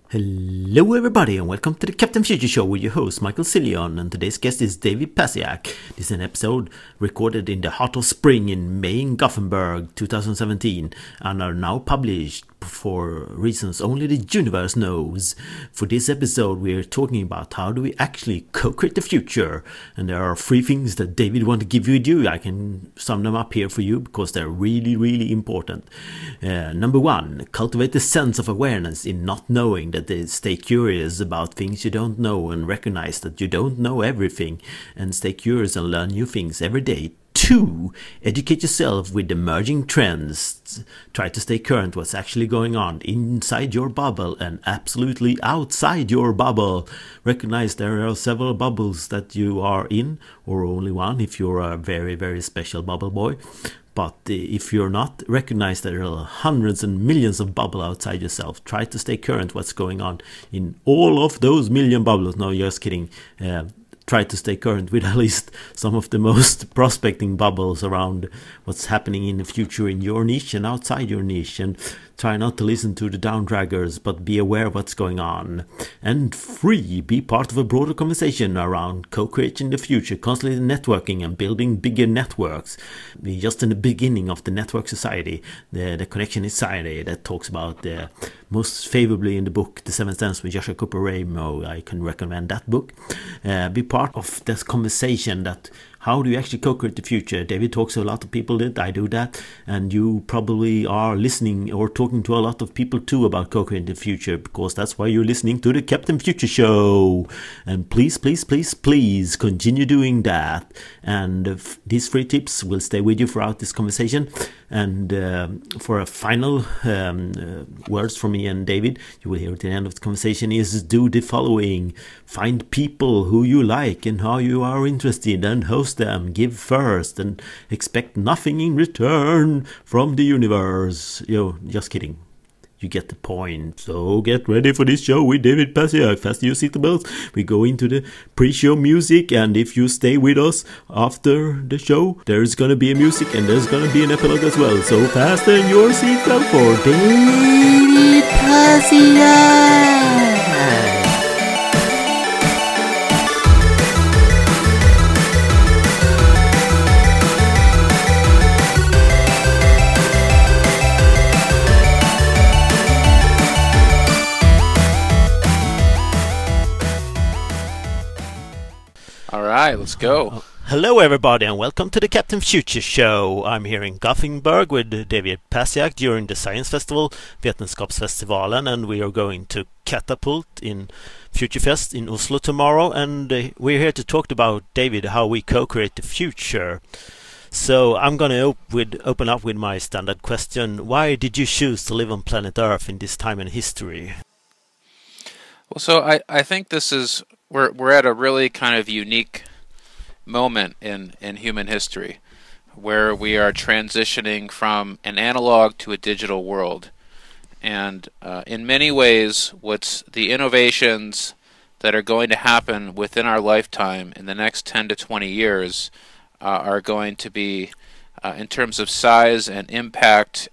Hello everybody and welcome to the Captain Future Show with your host Michael Cillion, and today's guest is David Pasiak. This is an episode recorded in the heart of spring in May in Gothenburg 2017 and are now published for reasons only the universe knows. For this episode we are talking about how do we actually co-create the future, and there are 3 things that David want to give you. I can sum them up here for you because they're really important. Number 1, cultivate the sense of awareness in not knowing, that they stay curious about things you don't know and recognize that you don't know everything, and stay curious and learn new things every day. 2, educate yourself with emerging trends. Try to stay current what's actually going on inside your bubble and absolutely outside your bubble. Recognize there are several bubbles that you are in, or only one if you're a very special bubble boy. But if you're not, recognize that there are hundreds and millions of bubbles outside yourself. Try to stay current what's going on in all of those million bubbles. No, just kidding. Try to stay current with at least some of the most prospecting bubbles around what's happening in the future in your niche and outside your niche, and try not to listen to the downdraggers but be aware of what's going on. And 3, be part of a broader conversation around co-creating the future, constantly networking and building bigger networks. We're just in the beginning of the network society, the connection society that talks about most favorably in the book The 7 Steps with Joshua Cooper Ramo. I can recommend that book. Be part of this conversation that how do you actually co-create the future? David talks to a lot of people that I do that, and you probably are listening or talking to a lot of people too about co-creating the future, because that's why you're listening to the Captain Future Show. And please continue doing that. And these 3 tips will stay with you throughout this conversation. And for a final words from me and David, you will hear at the end of the conversation, is do the following. Find people who you like and how you are interested and host them. Give first and expect nothing in return from the universe. Just kidding. You get the point. So get ready for this show with David Pasiak. Fasten your seatbelts. We go into the pre-show music, and if you stay with us after the show, there's gonna be a music and there's gonna be an epilogue as well. So fasten your seatbelt for David Pasiak. All right, let's go. Hello everybody and welcome to the Captain Future Show. I'm here in Gothenburg with David Pasiak during the Science Festival, Vetenskapsfestivalen, and we are going to Catapult in Futurefest in Oslo tomorrow, and we're here to talk about, David, how we co-create the future. So I'm going to open up with my standard question. Why did you choose to live on planet Earth in this time in history? Well, so I think this is we're at a really kind of unique moment in human history, where we are transitioning from an analog to a digital world, and in many ways, what's the innovations that are going to happen within our lifetime in the next 10 to 20 years are going to be, in terms of size and impact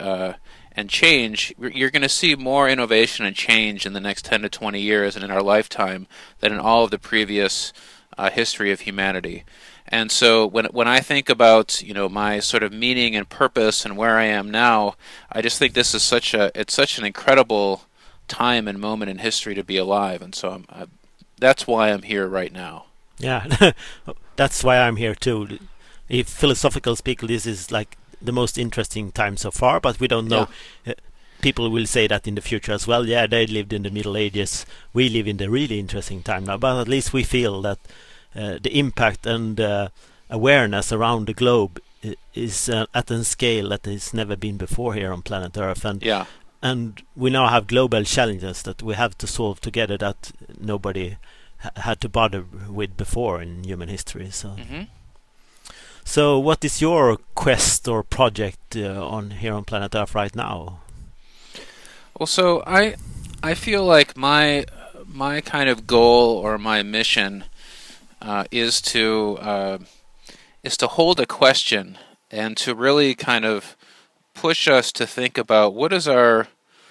and change, you're going to see more innovation and change in the next 10 to 20 years and in our lifetime than in all of the previous history of humanity. And so when I think about my sort of meaning and purpose and where I am now, I just think this is such an incredible time and moment in history to be alive, and so that's why I'm here right now. Yeah, that's why I'm here too. If philosophical speak, this is like the most interesting time so far, but we don't know. Yeah. People will say that in the future as well. Yeah, they lived in the Middle Ages. We live in the really interesting time now, but at least we feel that the impact and awareness around the globe is at a scale that has never been before here on planet Earth. And we now have global challenges that we have to solve together that nobody had to bother with before in human history. So. Mm-hmm. So what is your quest or project on here on planet Earth right now? Well, so I feel like my kind of goal or my mission is to hold a question and to really kind of push us to think about what is our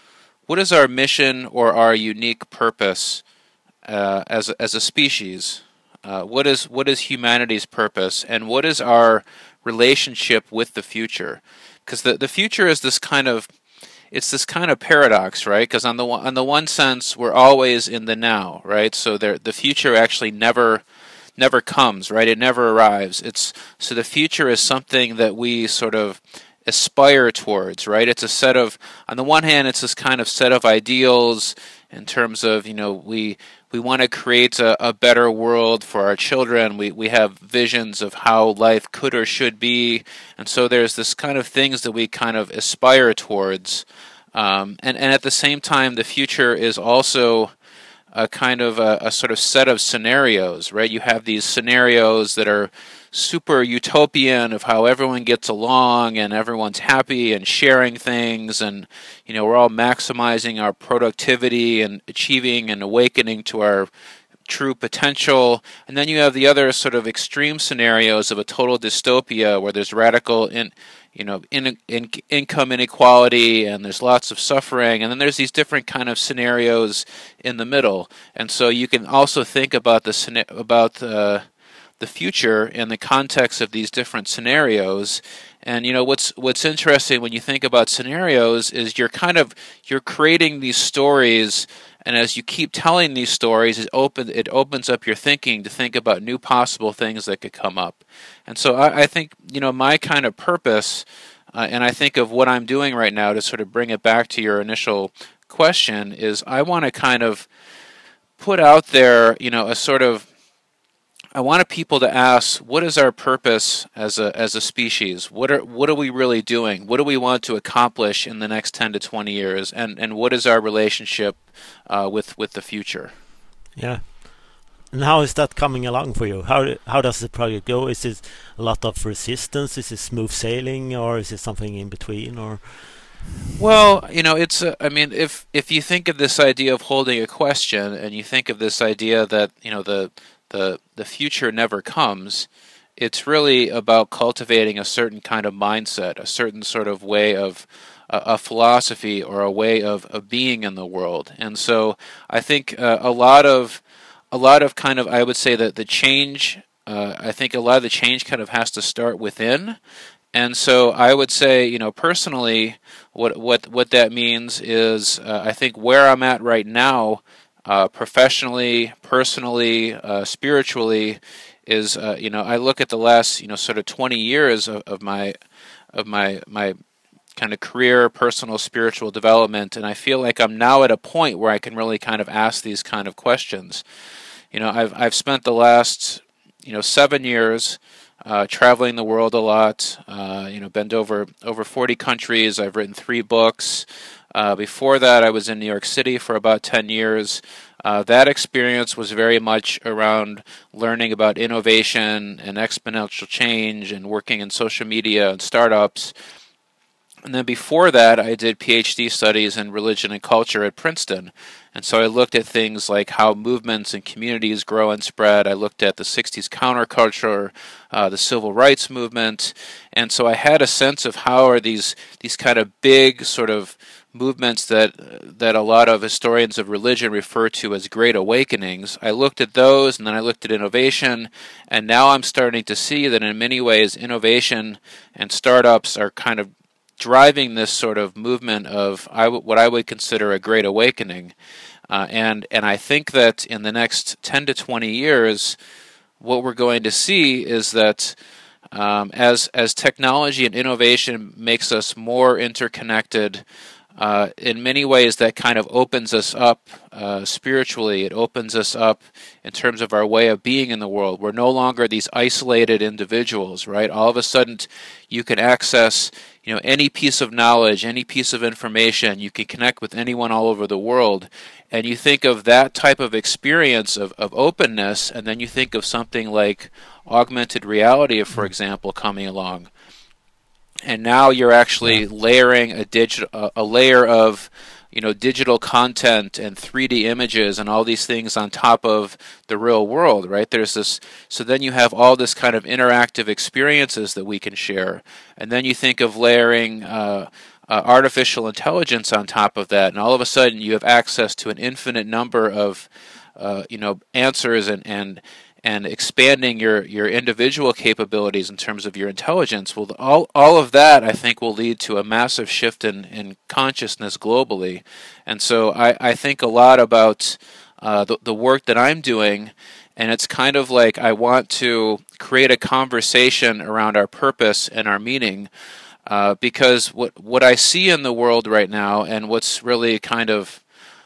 what is our mission or our unique purpose as a species? What is humanity's purpose, and what is our relationship with the future? Because the future is this kind of paradox, right? Because on the one sense, we're always in the now, right? So the future actually never comes, right? It never arrives. So the future is something that we sort of aspire towards, right? It's a set of, on the one hand, it's this kind of set of ideals in terms of, we want to create a better world for our children. We have visions of how life could or should be, and so there's this kind of things that we kind of aspire towards, and at the same time, the future is also a kind of a sort of set of scenarios, right? You have these scenarios that are super utopian of how everyone gets along and everyone's happy and sharing things, and we're all maximizing our productivity and achieving and awakening to our true potential. And then you have the other sort of extreme scenarios of a total dystopia where there's radical income inequality and there's lots of suffering, and then there's these different kind of scenarios in the middle. And so you can also think about the future in the context of these different scenarios. And what's interesting when you think about scenarios is you're creating these stories, and as you keep telling these stories, it opens up your thinking to think about new possible things that could come up. And so I think my kind of purpose, and I think of what I'm doing right now to sort of bring it back to your initial question, is I want to kind of put out there I wanted people to ask, what is our purpose as a species? What are we really doing? What do we want to accomplish in the next 10 to 20 years? And what is our relationship with the future? Yeah. And how is that coming along for you? How does the project go? Is it a lot of resistance? Is it smooth sailing, or is it something in between? Or well, it's if you think of this idea of holding a question, and you think of this idea that the future never comes, it's really about cultivating a certain kind of mindset, a certain sort of way of a philosophy or a way of being in the world. And so I think a lot of kind of, I would say that the change, I think a lot of the change kind of has to start within. And so I would say, personally, what that means is I think where I'm at right now, professionally, personally, spiritually, is I look at the last sort of 20 years of my kind of career, personal, spiritual development, and I feel like I'm now at a point where I can really kind of ask these kind of questions. I've spent the last 7 years traveling the world a lot. Been to over 40 countries. I've written 3 books. Before that, I was in New York City for about 10 years. That experience was very much around learning about innovation and exponential change and working in social media and startups. And then before that, I did PhD studies in religion and culture at Princeton. And so I looked at things like how movements and communities grow and spread. I looked at the 60s counterculture, the civil rights movement. And so I had a sense of how are these kind of big sort of movements that a lot of historians of religion refer to as great awakenings. I looked at those, and then I looked at innovation, and now I'm starting to see that in many ways innovation and startups are kind of driving this sort of movement of what I would consider a great awakening. And I think that in the next 10 to 20 years, what we're going to see is that as technology and innovation makes us more interconnected, in many ways that kind of opens us up spiritually. It opens us up in terms of our way of being in the world. We're no longer these isolated individuals, right? All of a sudden you can access any piece of knowledge, any piece of information. You can connect with anyone all over the world. And you think of that type of experience of openness, and then you think of something like augmented reality, for example, coming along. And now you're actually layering a layer of digital content and 3D images and all these things on top of the real world, right? There's this, so then you have all this kind of interactive experiences that we can share. And then you think of layering artificial intelligence on top of that, and all of a sudden you have access to an infinite number of answers and expanding your individual capabilities in terms of your intelligence. Well, all of that, I think, will lead to a massive shift in consciousness globally. And so I think a lot about the work that I'm doing, and it's kind of like I want to create a conversation around our purpose and our meaning, because what I see in the world right now, and what's really kind of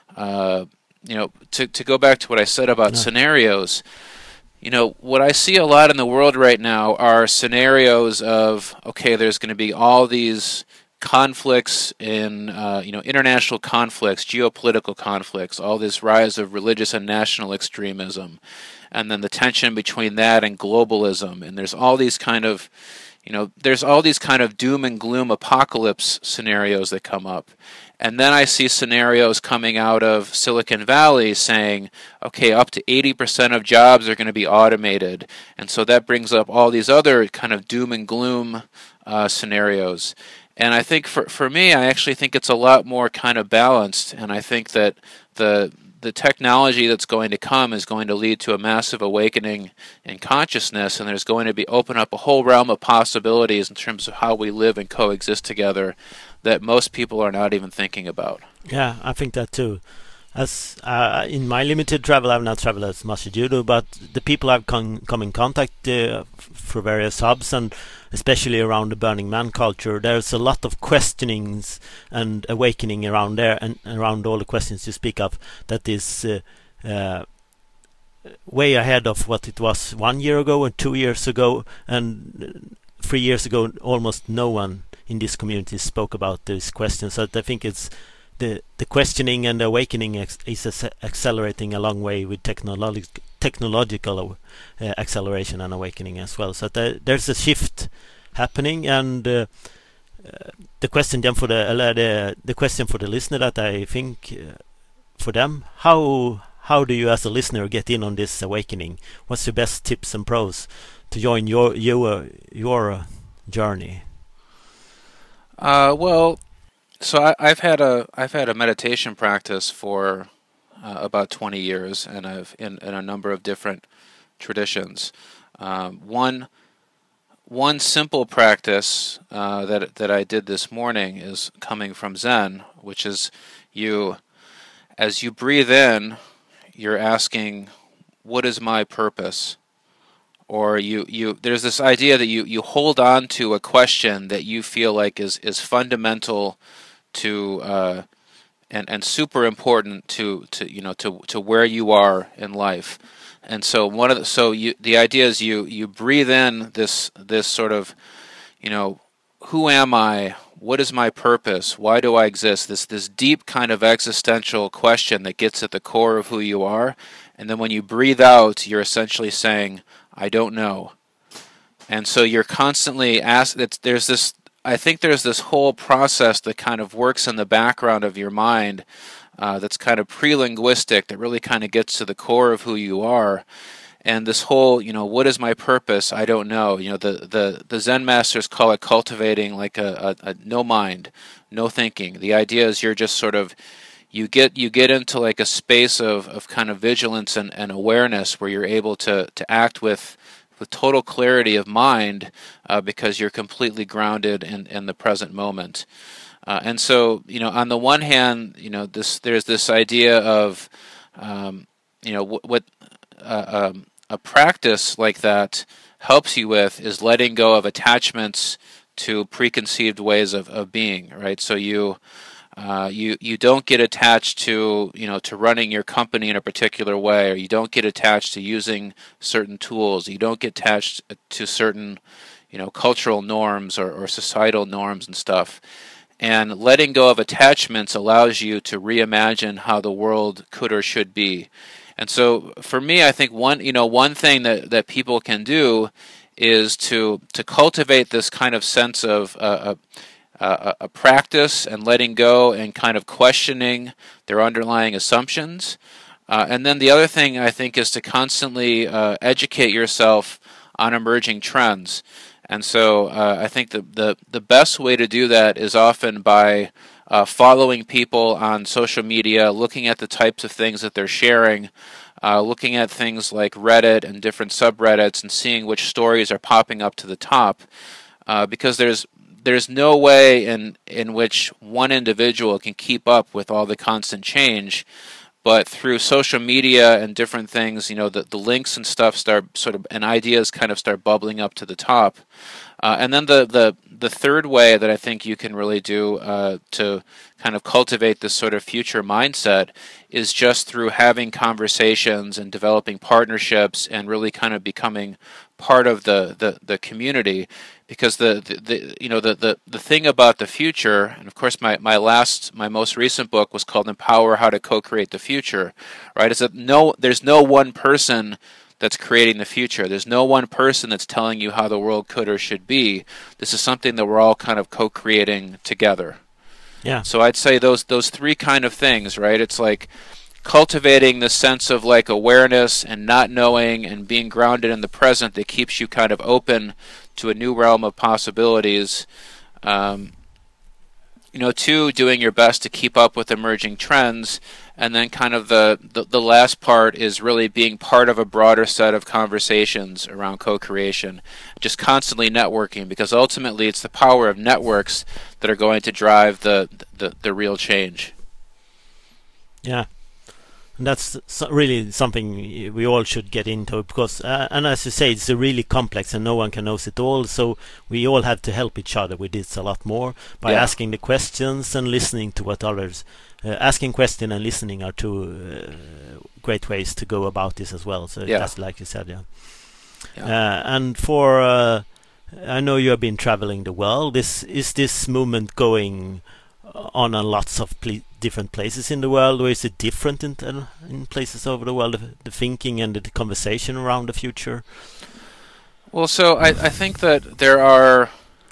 to go back to what I said about scenarios, what I see a lot in the world right now are scenarios of, okay, there's going to be all these conflicts in, international conflicts, geopolitical conflicts, all this rise of religious and national extremism, and then the tension between that and globalism, and there's all these kind of doom and gloom apocalypse scenarios that come up. And then I see scenarios coming out of Silicon Valley saying, okay, up to 80% of jobs are going to be automated. And so that brings up all these other kind of doom and gloom scenarios. And I think for me, I actually think it's a lot more kind of balanced. And I think that the technology that's going to come is going to lead to a massive awakening in consciousness, and there's going to open up a whole realm of possibilities in terms of how we live and coexist together that most people are not even thinking about. Yeah, I think that too. As in my limited travel, I've not traveled as much as you do, but the people I've come in contact for various hubs, and especially around the Burning Man culture, there's a lot of questionings and awakening around there, and around all the questions you speak of, that is way ahead of what it was 1 year ago and 2 years ago, and 3 years ago. Almost no one in this community spoke about these questions. So I think it's the questioning and the awakening is accelerating a long way with technological acceleration and awakening as well. So there's a shift happening, and the question then for the question for the listener, that I think for them, how do you as a listener get in on this awakening? What's your best tips and pros to join your journey? So I've had a meditation practice for about 20 years, and I've in a number of different traditions. One simple practice that I did this morning is coming from Zen, which is as you breathe in, you're asking, "What is my purpose?" Or there's this idea that you hold on to a question that you feel like is fundamental to and super important to where you are in life. And so the idea is you breathe in this sort of, who am I? What is my purpose? Why do I exist? This deep kind of existential question that gets at the core of who you are. And then when you breathe out, you're essentially saying, I don't know. And so you're constantly asked. I think there's this whole process that kind of works in the background of your mind, that's kind of pre-linguistic, that really kind of gets to the core of who you are. And this whole, what is my purpose? I don't know. The Zen masters call it cultivating like a no mind, no thinking. The idea is you're just sort of, you get into like a space of kind of vigilance and awareness, where you're able to act with total clarity of mind, because you're completely grounded in the present moment. And so, on the one hand, there's this idea of, what a practice like that helps you with is letting go of attachments to preconceived ways of being, right? So you don't get attached to running your company in a particular way, or you don't get attached to using certain tools. You don't get attached to certain cultural norms or societal norms and stuff. And letting go of attachments allows you to reimagine how the world could or should be. And so for me, I think one thing that people can do is to cultivate this kind of sense of a practice and letting go and kind of questioning their underlying assumptions. And then the other thing, I think, is to constantly educate yourself on emerging trends. And so I think the best way to do that is often by following people on social media, looking at the types of things that they're sharing, looking at things like Reddit and different subreddits, and seeing which stories are popping up to the top, because there's no way in which one individual can keep up with all the constant change. But through social media and different things, the links and stuff start sort of, and ideas kind of start bubbling up to the top. And then the third way that I think you can really do to kind of cultivate this sort of future mindset is just through having conversations and developing partnerships and really kind of becoming part of the community. Because the thing about the future, and of course my most recent book was called Empower: How to Co-Create the Future, right? Is that there's no one person that's creating the future. There's no one person that's telling you how the world could or should be. This is something that we're all kind of co-creating together. Yeah. So I'd say those three kind of things, right? It's like cultivating the sense of like awareness and not knowing and being grounded in the present that keeps you kind of open to a new realm of possibilities. Two, doing your best to keep up with emerging trends. And then kind of the last part is really being part of a broader set of conversations around co-creation, just constantly networking, because ultimately it's the power of networks that are going to drive the real change. Yeah. And that's really something we all should get into, because, and as you say, it's really complex and no one can know it all. So we all have to help each other with this a lot more by asking the questions and listening to what others. Asking question and listening are two great ways to go about this as well. So that's like you said, and for I know you have been traveling the world. Is this movement going on lots of different places in the world, or is it different in places over the world? The thinking and the conversation around the future. Well, so I think that there are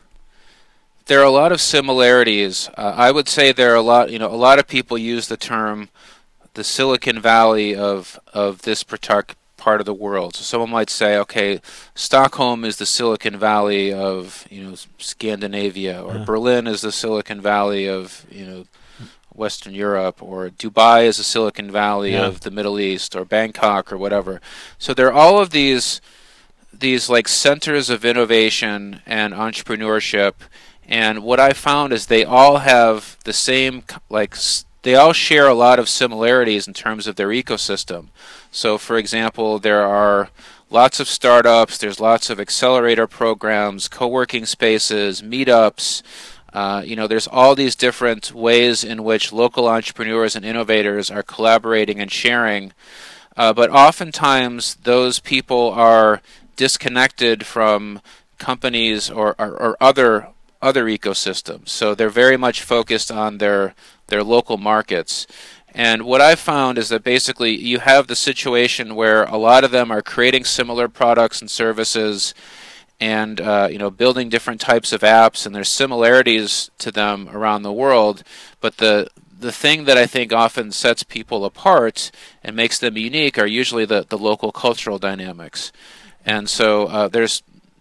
a lot of similarities. I would say there are a lot of people use the term the Silicon Valley of this part of the world. So someone might say, okay, Stockholm is the Silicon Valley of Scandinavia, or Berlin is the Silicon Valley of Western Europe, or Dubai is the Silicon Valley of the Middle East, or Bangkok, or whatever. So there are all of these like centers of innovation and entrepreneurship. And what I found is they all have the same, they all share a lot of similarities in terms of their ecosystem. So, for example, there are lots of startups, there's lots of accelerator programs, co-working spaces, meetups. There's all these different ways in which local entrepreneurs and innovators are collaborating and sharing. But oftentimes, those people are disconnected from companies or other ecosystems. So they're very much focused on their local markets. And what I've found is that basically you have the situation where a lot of them are creating similar products and services and building different types of apps, and there's similarities to them around the world. But the thing that I think often sets people apart and makes them unique are usually the local cultural dynamics. And so there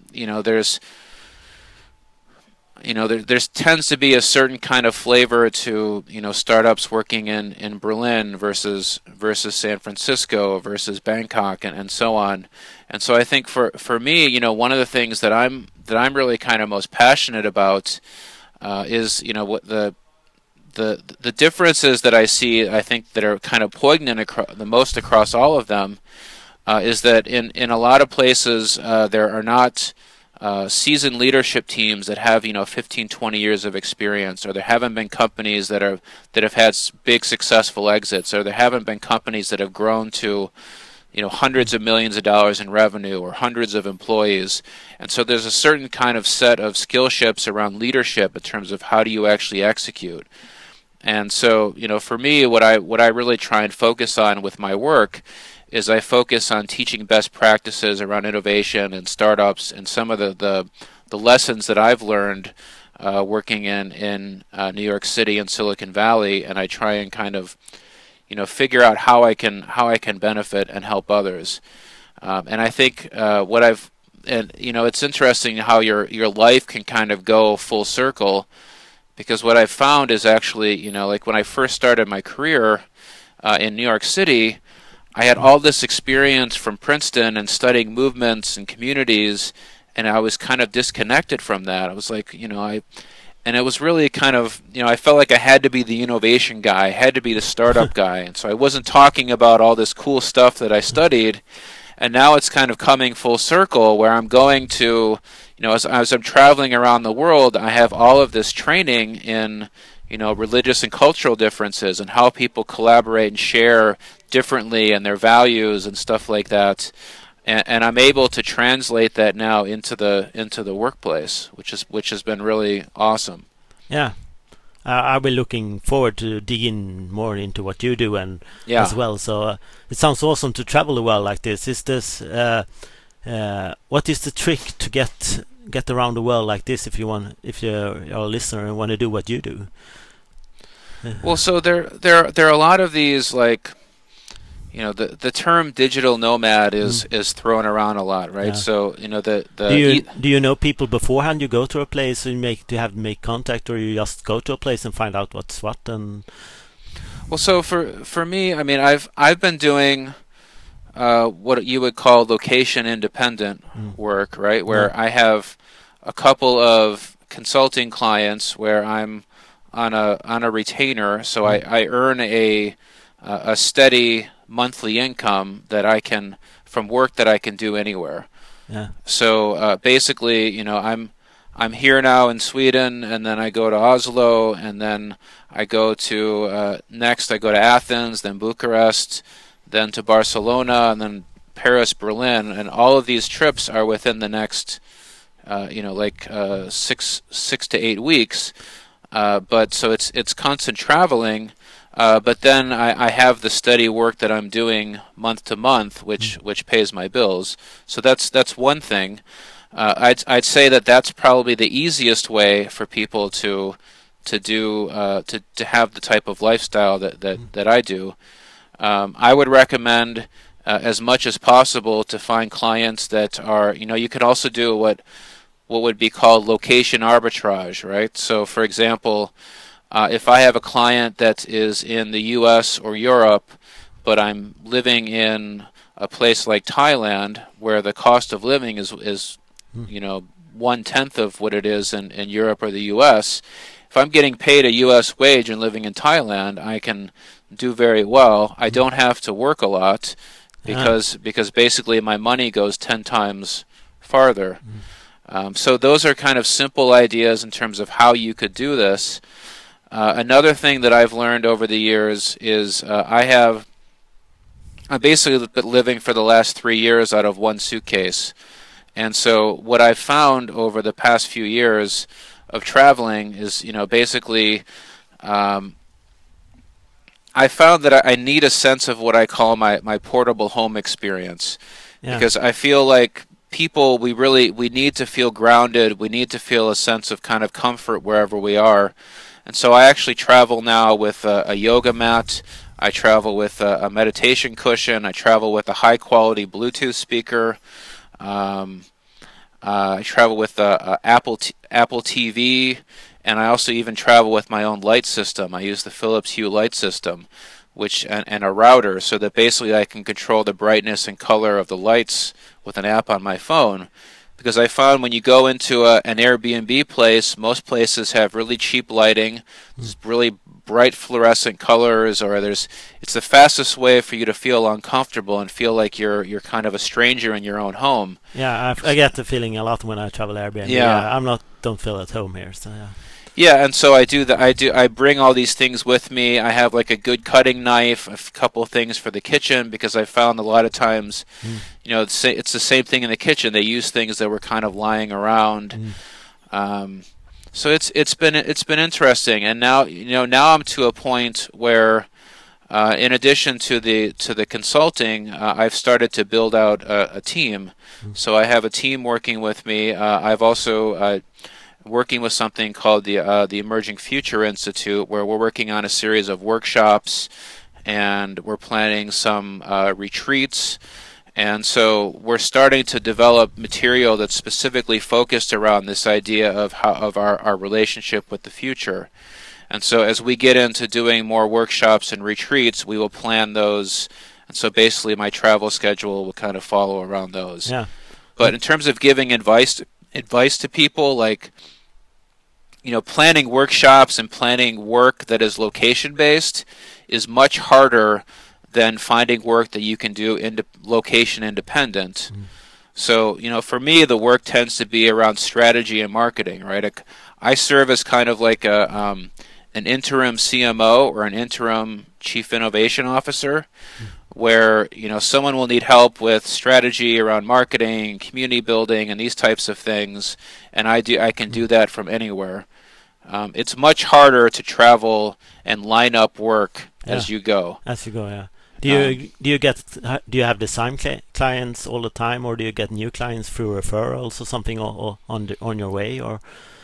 tends to be a certain kind of flavor to startups working in Berlin versus San Francisco versus Bangkok and so on. And so I think for me, one of the things that I'm really kind of most passionate about is what the differences that I see. I think that are kind of poignant the most across all of them is that in a lot of places there are not seasoned leadership teams that have 15, 20 years of experience, or there haven't been companies that have had big successful exits, or there haven't been companies that have grown to hundreds of millions of dollars in revenue or hundreds of employees. And so there's a certain kind of set of skill ships around leadership in terms of how do you actually execute. And so for me, what I really try and focus on with my work is I focus on teaching best practices around innovation and startups, and some of the lessons that I've learned working in New York City and Silicon Valley, and I try and kind of figure out how I can benefit and help others. And I think and it's interesting how your life can kind of go full circle, because what I've found is actually, like when I first started my career in New York City, I had all this experience from Princeton and studying movements and communities, and I was kind of disconnected from that. I was like, and it was really kind of, I felt like I had to be the innovation guy, I had to be the startup guy, and so I wasn't talking about all this cool stuff that I studied. And now it's kind of coming full circle where I'm going to, as I'm traveling around the world, I have all of this training in, religious and cultural differences and how people collaborate and share differently and their values and stuff like that. And I'm able to translate that now into the workplace, which has been really awesome. Yeah. I'll be looking forward to digging more into what you do and Yeah. as well. So it sounds awesome to travel the world like this. Is this what is the trick to get around the world like this? If you're a listener and want to do what you do. Well, so there are a lot of these, like, the term digital nomad is thrown around a lot, right? Yeah. So do you know people beforehand? You go to a place and make contact, or you just go to a place and find out what's what? And well, so for me, I mean, I've been doing what you would call location independent work, right? Where I have a couple of consulting clients where I'm on a retainer, so I earn a steady monthly income that I can from work that I can do anywhere. Yeah. So basically, I'm here now in Sweden, and then I go to Oslo, and then I go to next I go to Athens, then Bucharest, then to Barcelona, and then Paris, Berlin, and all of these trips are within the next 6 to 8 weeks. But so it's constant traveling. But then I have the steady work that I'm doing month to month, which pays my bills. So that's one thing. I'd say that's probably the easiest way for people to do to have the type of lifestyle that I do. I would recommend as much as possible to find clients that are, you could also do what would be called location arbitrage, right? So for example, if I have a client that is in the US or Europe, but I'm living in a place like Thailand where the cost of living is 1/10 of what it is in Europe or the US, if I'm getting paid a US wage and living in Thailand, I can do very well. I don't have to work a lot because basically my money goes 10 times farther. So those are kind of simple ideas in terms of how you could do this. Another thing that I've learned over the years is I'm basically been living for the last 3 years out of one suitcase. And so what I've found over the past few years of traveling is, basically I found that I need a sense of what I call my portable home experience. Yeah. Because I feel like people, we need to feel grounded. We need to feel a sense of kind of comfort wherever we are. And so I actually travel now with a yoga mat. I travel with a meditation cushion. I travel with a high-quality Bluetooth speaker. I travel with a Apple TV, and I also even travel with my own light system. I use the Philips Hue light system, and a router, so that basically I can control the brightness and color of the lights with an app on my phone. Because I found when you go into an Airbnb place, most places have really cheap lighting, really bright fluorescent colors, or it's the fastest way for you to feel uncomfortable and feel like you're kind of a stranger in your own home. Yeah, I get the feeling a lot when I travel Airbnb. Yeah, don't feel at home here, so yeah. Yeah, and so I bring all these things with me. I have like a good cutting knife, a couple of things for the kitchen, because I found a lot of times, it's the same thing in the kitchen. They use things that were kind of lying around. So it's been interesting, and now now I'm to a point where, in addition to the consulting, I've started to build out a team. So I have a team working with me. I've also working with something called the Emerging Future Institute, where we're working on a series of workshops, and we're planning some retreats, And so we're starting to develop material that's specifically focused around this idea of our relationship with the future. And so as we get into doing more workshops and retreats, we will plan those. And so basically my travel schedule will kind of follow around those. Yeah. But in terms of giving advice to people, like, planning workshops and planning work that is location based is much harder than finding work that you can do location independent. So, for me, the work tends to be around strategy and marketing, right? I serve as kind of like an interim CMO or an interim Chief Innovation Officer, where someone will need help with strategy around marketing, community building, and these types of things, and I can do that from anywhere. It's much harder to travel and line up work as you go. As you go, yeah. Do you have the same clients all the time, or do you get new clients through referrals or something, or on your way, or?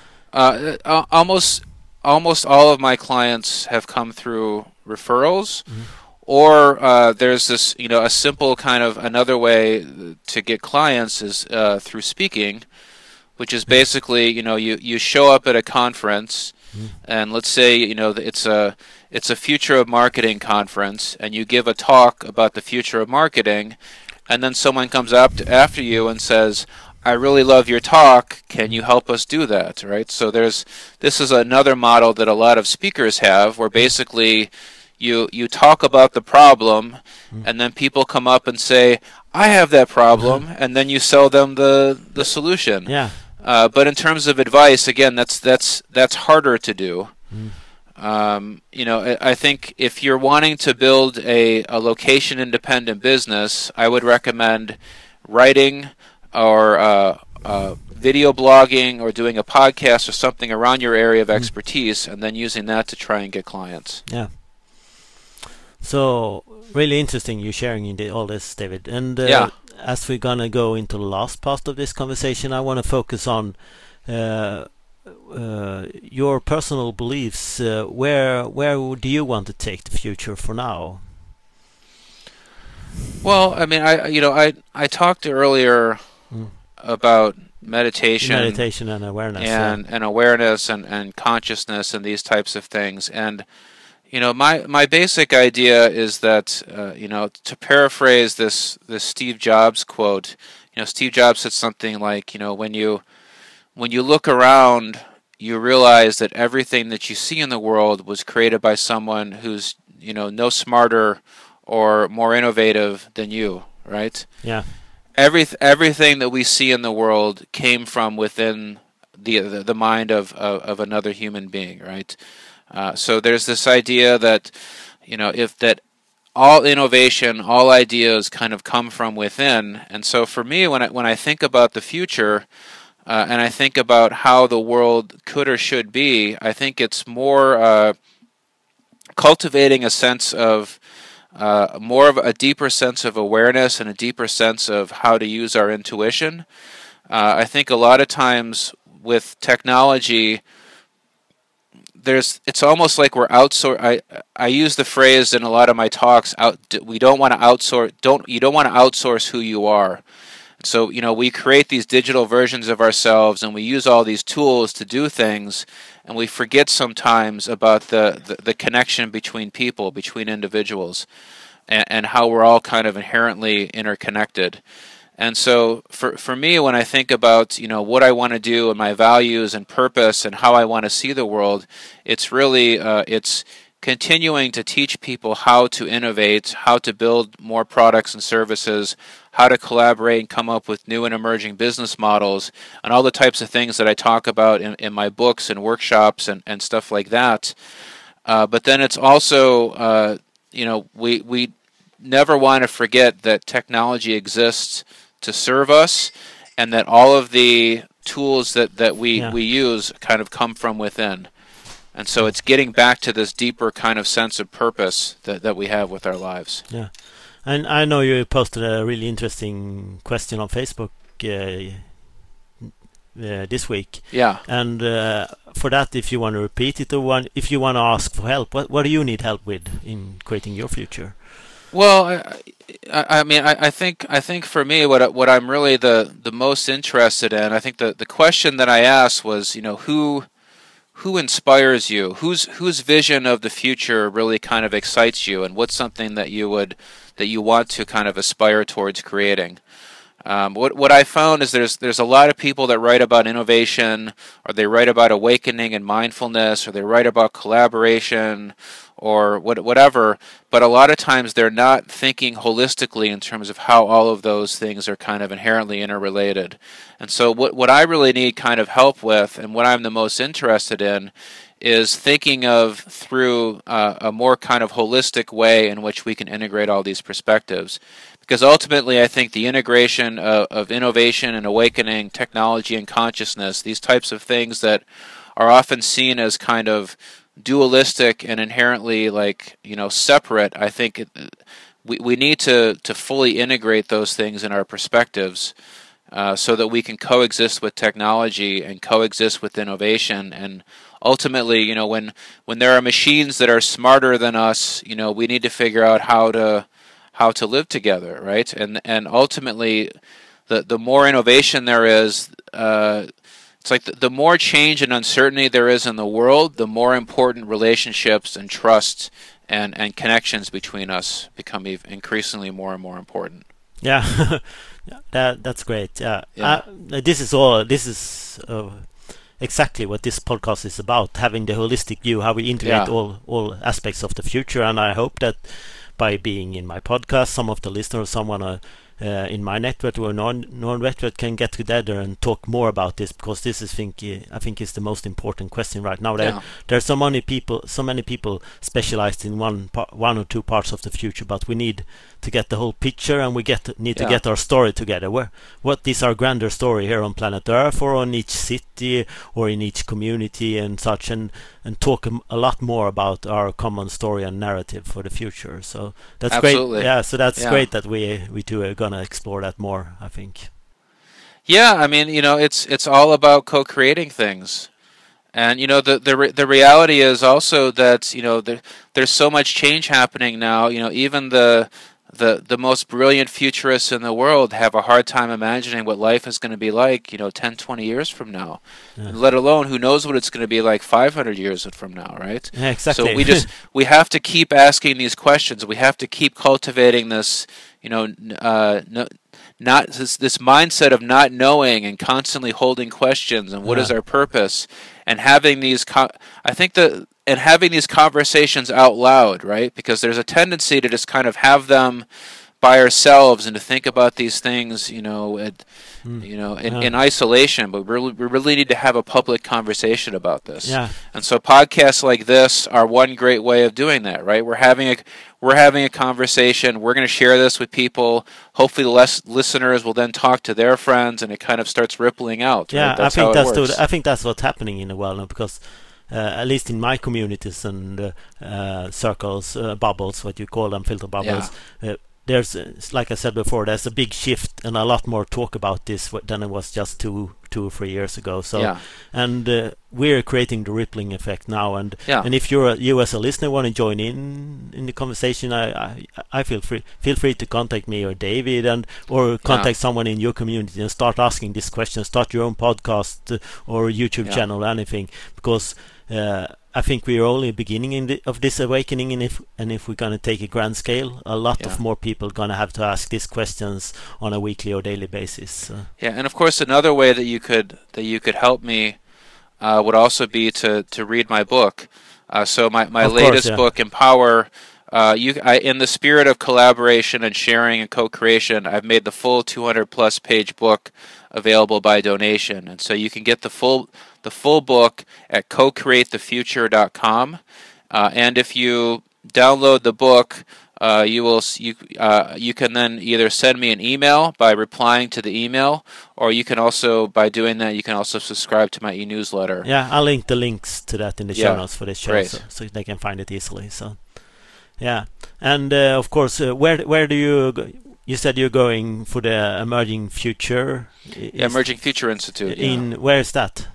Almost all of my clients have come through referrals, or there's this, a simple kind of another way to get clients is through speaking, which is basically, you show up at a conference, and let's say, it's a future of marketing conference, and you give a talk about the future of marketing, and then someone comes up after you and says, I really love your talk. Can you help us do that? Right. So this is another model that a lot of speakers have, where basically you talk about the problem, and then people come up and say, I have that problem, and then you sell them the solution. Yeah. But in terms of advice, again, that's harder to do. I think if you're wanting to build a location independent business, I would recommend writing or video blogging or doing a podcast or something around your area of expertise, and then using that to try and get clients. Yeah. So really interesting you sharing all this, David. And as we're gonna go into the last part of this conversation, I want to focus on your personal beliefs. Where do you want to take the future for now? Well, I mean, I talked earlier about meditation and awareness, and awareness and consciousness and these types of things. And my basic idea is that to paraphrase this Steve Jobs quote, Steve Jobs said something like, when you look around, you realize that everything that you see in the world was created by someone who's no smarter or more innovative than you, right? Yeah. Everything that we see in the world came from within the mind of another human being, right? So there's this idea that if that all innovation, all ideas kind of come from within. And so for me, when I think about the future, and I think about how the world could or should be, I think it's more cultivating a sense of more of a deeper sense of awareness and a deeper sense of how to use our intuition. I think a lot of times with technology, it's almost like we're outsourcing. I use the phrase in a lot of my talks. We don't want to outsource. You don't want to outsource who you are. So we create these digital versions of ourselves, and we use all these tools to do things, and we forget sometimes about the connection between people, between individuals, and how we're all kind of inherently interconnected. And so for me, when I think about what I want to do and my values and purpose and how I want to see the world, it's really it's continuing to teach people how to innovate, how to build more products and services, how to collaborate and come up with new and emerging business models, and all the types of things that I talk about in my books and workshops and stuff like that. But then it's also, we never want to forget that technology exists to serve us, and that all of the tools that we use kind of come from within. And so it's getting back to this deeper kind of sense of purpose that we have with our lives. Yeah. And I know you posted a really interesting question on Facebook this week. Yeah. And for that, if you want to repeat it, or if you want to ask for help, what do you need help with in creating your future? Well, I think for me, what I'm really the most interested in, I think the question that I asked was, who inspires you, whose vision of the future really kind of excites you, and what's something that you want to kind of aspire towards creating. What I found is there's a lot of people that write about innovation, or they write about awakening and mindfulness, or they write about collaboration, or whatever. But a lot of times they're not thinking holistically in terms of how all of those things are kind of inherently interrelated. And so what I really need kind of help with, and what I'm the most interested in, is thinking of through a more kind of holistic way in which we can integrate all these perspectives. Because ultimately, I think the integration of innovation and awakening, technology and consciousness, these types of things that are often seen as kind of dualistic and inherently separate, I think we need to fully integrate those things in our perspectives, so that we can coexist with technology and coexist with innovation. And ultimately, when there are machines that are smarter than us, we need to figure out how to live together, right? And ultimately, the more innovation there is, it's like the more change and uncertainty there is in the world, the more important relationships and trust and connections between us become increasingly more and more important. Yeah, that's great. Yeah, Yeah. this is exactly what this podcast is about: having the holistic view, how we integrate Yeah. all aspects of the future. And I hope that by being in my podcast, some of the listeners, someone in my network or non-network can get together and talk more about this, because this is I think is the most important question right now. Yeah. There's so many people specialized in one or two parts of the future, but we need to get the whole picture, and we need to Yeah. get our story together. What is our grander story here on planet Earth, or on each city, or in each community and such, and talk a lot more about our common story and narrative for the future. So that's great. Absolutely. Yeah, so that's Yeah. great that we two are gonna explore that more, I think. Yeah, I mean, it's all about co-creating things. And the reality is also that there's so much change happening now. Even the most brilliant futurists in the world have a hard time imagining what life is going to be like 10, 20 years from now. Yeah. And let alone who knows what it's going to be like 500 years from now, right? Yeah, exactly. So we have to keep asking these questions. We have to keep cultivating this not this mindset of not knowing and constantly holding questions, and what is our purpose, and having these having these conversations out loud, right? Because there's a tendency to just kind of have them by ourselves and to think about these things, in isolation. But we really need to have a public conversation about this. Yeah. And so podcasts like this are one great way of doing that, right? We're having a conversation. We're going to share this with people. Hopefully, the listeners will then talk to their friends, and it kind of starts rippling out. Yeah, right? That's I think how it works. I think that's what's happening in the world now, because at least in my communities and circles, bubbles, what you call them, filter bubbles. There's, like I said before, there's a big shift and a lot more talk about this than it was just two or 3 years ago. So, Yeah. and we're creating the rippling effect now. And if you as a listener want to join in the conversation, I feel free to contact me or David, or contact someone in your community and start asking this question. Start your own podcast or YouTube channel, anything, because. I think we're only beginning of this awakening, and if we're gonna take a grand scale, a lot of more people gonna have to ask these questions on a weekly or daily basis. Yeah, and of course, another way that you could help me would also be to read my book. So my latest book, Empower. In the spirit of collaboration and sharing and co-creation, I've made the full 200+ page book available by donation, and so you can get the full book at cocreatethefuture.com. And if you download the book, you can then either send me an email by replying to the email, or you can also, by doing that, you can also subscribe to my e-newsletter. Yeah, I'll link the links to that in the show notes for this show, so they can find it easily. So, yeah, and of course, where do you go? You said you're going for the Emerging Future. Emerging Future Institute. Where is that?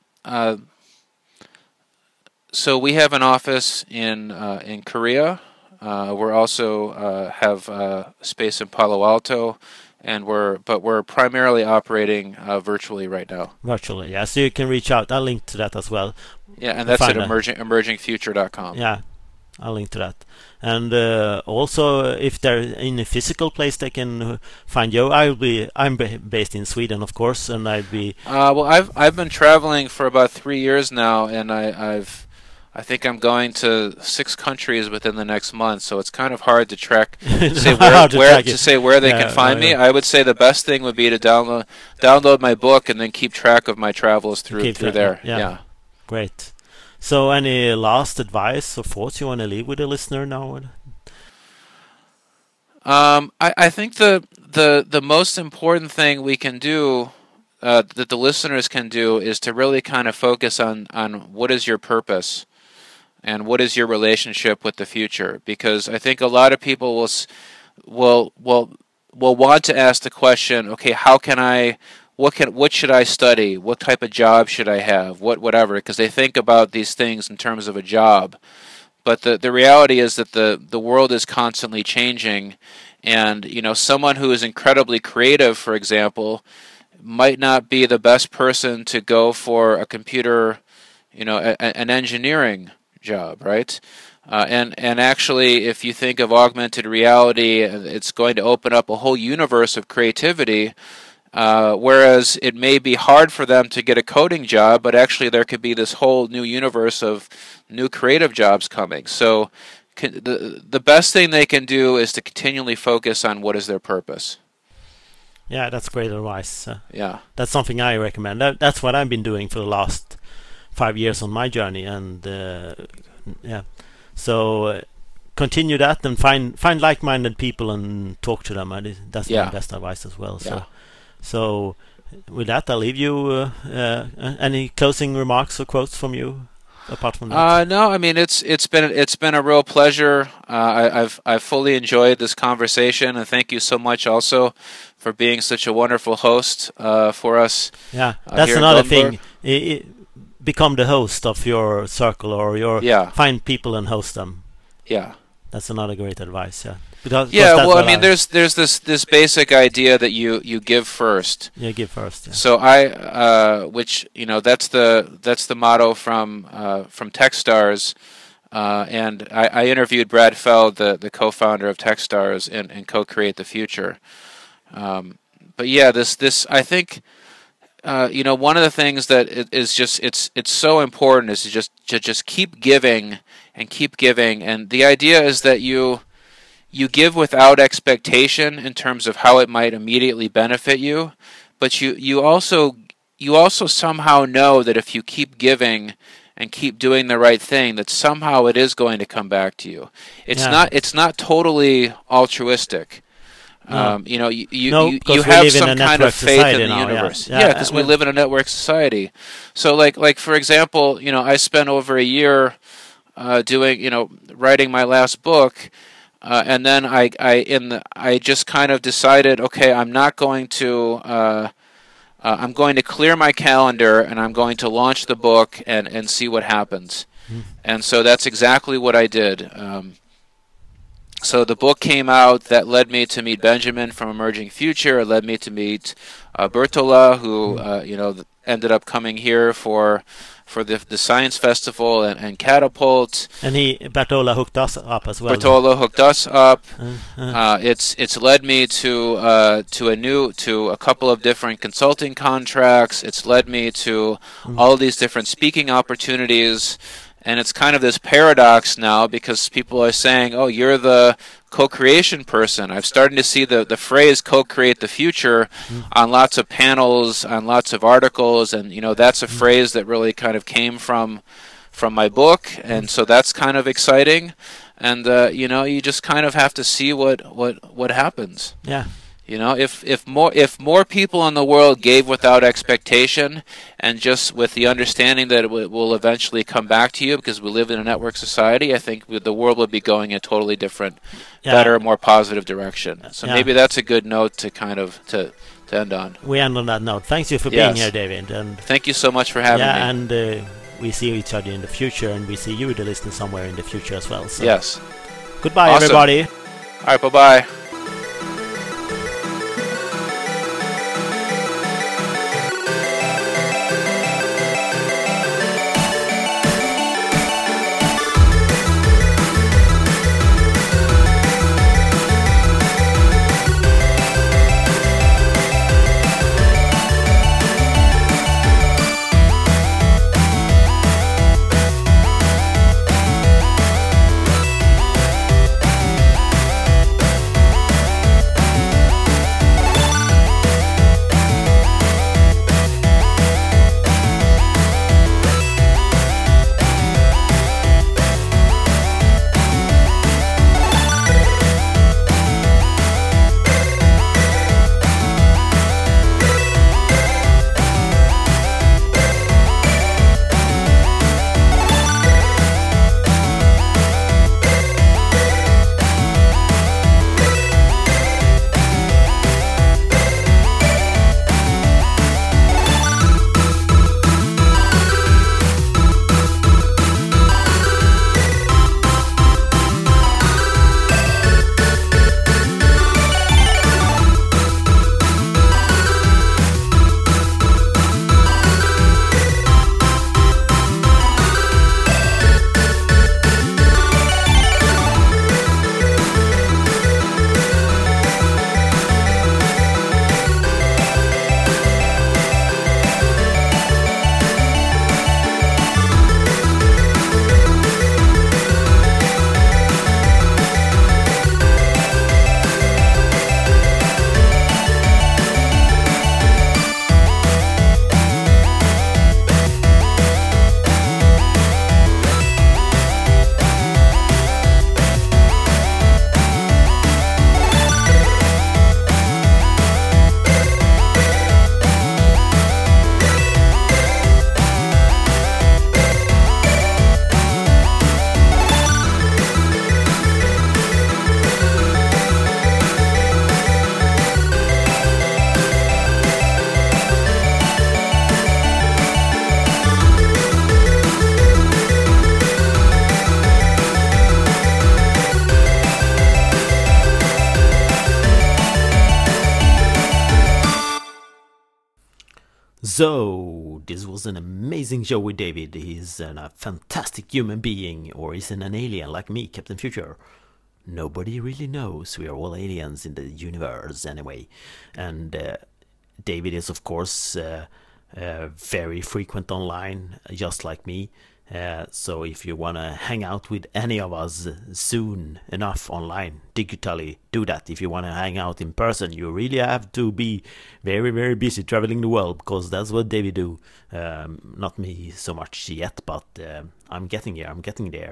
So we have an office in Korea, We're also have space in Palo Alto, and we're primarily operating virtually right now. Virtually, yeah. So you can reach out. I'll link to that as well. Yeah, and that's at emergingfuture.com. Yeah, I'll link to that. And also, if they're in a physical place, they can find you. I'm based in Sweden, of course, and I'd be. Well, I've been traveling for about 3 years now, and I think I'm going to 6 countries within the next month. So it's kind of hard to track, say where they can find me. I would say the best thing would be to download my book and then keep track of my travels through there. Yeah. Great. So, any last advice or thoughts you want to leave with the listener now? I think the most important thing we can do, that the listeners can do, is to really kind of focus on what is your purpose, and what is your relationship with the future. Because I think a lot of people will want to ask the question, okay, what should I study? What type of job should I have? Whatever, because they think about these things in terms of a job. But the reality is that the world is constantly changing, and someone who is incredibly creative, for example, might not be the best person to go for a computer, an engineering job, right? And actually, if you think of augmented reality, it's going to open up a whole universe of creativity. Whereas it may be hard for them to get a coding job, but actually there could be this whole new universe of new creative jobs coming. So the best thing they can do is to continually focus on what is their purpose. Yeah, that's great advice. Yeah. That's something I recommend. That's what I've been doing for the last 5 years on my journey. And yeah, so continue that and find like-minded people and talk to them. That's my best advice as well. So. Yeah. So, with that, I'll leave you. Any closing remarks or quotes from you, apart from that? No, I mean it's been a real pleasure. I've fully enjoyed this conversation, and thank you so much also for being such a wonderful host for us. Yeah, that's another thing. Become the host of your circle, or find people and host them. Yeah, that's another great advice. Yeah. Well, I mean, there's this basic idea that you give first. Yeah, give first. Yeah. So which that's the motto from TechStars, and I interviewed Brad Feld, the co-founder of TechStars, and co-create the future. But yeah, this I think one of the things that is just it's so important is to just keep giving and keep giving, and the idea is that you give without expectation in terms of how it might immediately benefit you, but you also somehow know that if you keep giving and keep doing the right thing, that somehow it is going to come back to you. It's not totally altruistic. No. You have some kind of faith in the universe. Because we live in a network society. So like for example, I spent over a year writing my last book. And then I just kind of decided, okay, I'm going to clear my calendar and I'm going to launch the book and see what happens. And so that's exactly what I did. So the book came out. That led me to meet Benjamin from Emerging Future. It led me to meet Bertola, who ended up coming here for the Science Festival and Catapult. And Bertola hooked us up as well. Bertola hooked us up. It's led me to a couple of different consulting contracts. It's led me to all these different speaking opportunities. And it's kind of this paradox now, because people are saying, oh, you're the co-creation person. I'm starting to see the phrase co-create the future on lots of panels, on lots of articles, and that's a phrase that really kind of came from my book, and so that's kind of exciting. And you just kind of have to see what happens. Yeah. If more people in the world gave without expectation and just with the understanding that it will eventually come back to you, because we live in a network society, I think the world would be going in a totally different, better, more positive direction. So maybe that's a good note to kind of to end on. We end on that note. Thanks you for being here, David. And thank you so much for having me. And we see each other in the future, and we see you, the listener, somewhere in the future as well. So. Yes. Goodbye, Awesome. everybody. All right, bye-bye. So, this was an amazing show with David. He's a fantastic human being, or is an alien like me, Captain Future? Nobody really knows. We are all aliens in the universe anyway. And David is, of course, very frequent online, just like me. So if you want to hang out with any of us soon enough online, digitally, do that. If you want to hang out in person, you really have to be very, very busy traveling the world, because that's what David do. Not me so much yet, but I'm getting here, I'm getting there.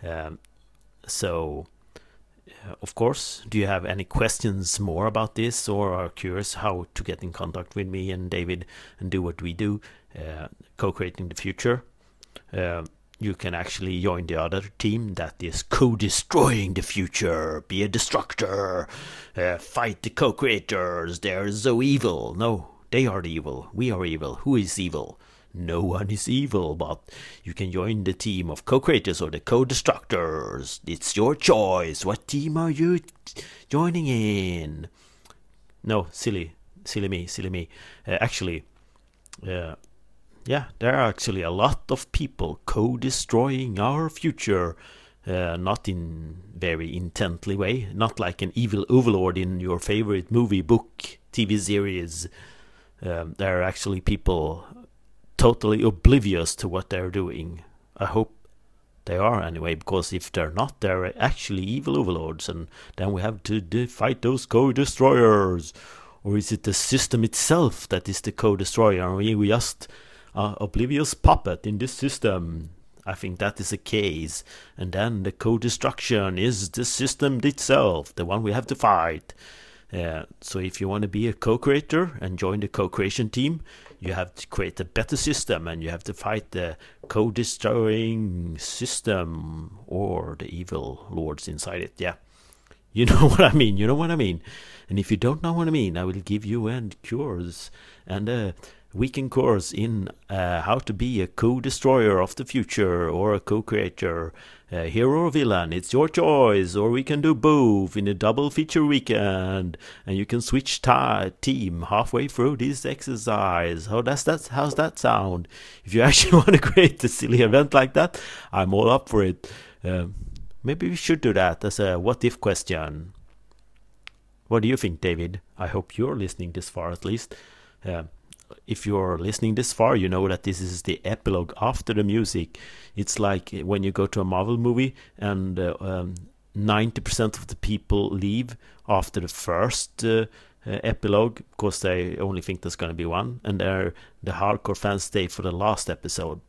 So, of course, do you have any questions more about this, or are curious how to get in contact with me and David and do what we do, co-creating the future? You can actually join the other team that is co-destroying the future. Be a destructor. Fight the co-creators. They're so evil. No, they are the evil. We are evil. Who is evil? No one is evil, but you can join the team of co-creators or the co-destructors. It's your choice. What team are you joining in? No, silly me. Actually, yeah, there are actually a lot of people co-destroying our future. Not in very intently way, not like an evil overlord in your favorite movie, book, TV series. There are actually people totally oblivious to what they're doing. I hope they are anyway, because if they're not, they're actually evil overlords, and then we have to fight those co-destroyers. Or is it the system itself that is the co-destroyer, and we just oblivious puppet in this system? I think that is the case, and then the co-destruction is the system itself, the one we have to fight. So if you want to be a co-creator and join the co-creation team, you have to create a better system, and you have to fight the co-destroying system or the evil lords inside it. Yeah, you know what I mean. And if you don't know what I mean, I will give you cures and weekend course in how to be a co-destroyer of the future or a co-creator, hero or villain. It's your choice, or we can do both in a double feature weekend, and you can switch team halfway through this exercise. How's that sound? If you actually want to create a silly event like that, I'm all up for it. Maybe we should do that as a what if question. What do you think, David? I hope you're listening this far at least. If you're listening this far, you know that this is the epilogue after the music. It's like when you go to a Marvel movie and 90% of the people leave after the first epilogue because they only think there's going to be one, and the hardcore fans stay for the last epilogue.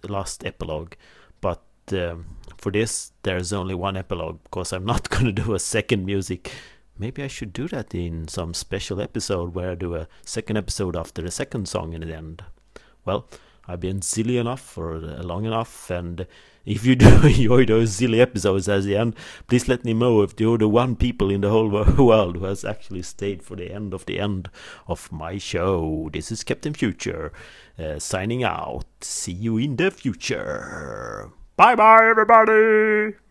But for this, there's only one epilogue because I'm not going to do a second music. Maybe I should do that in some special episode where I do a second episode after the second song in the end. Well, I've been silly enough for long enough, and if you do enjoy those silly episodes at the end, please let me know if you're the one people in the whole world who has actually stayed for the end of my show. This is Captain Future, signing out. See you in the future. Bye bye, everybody!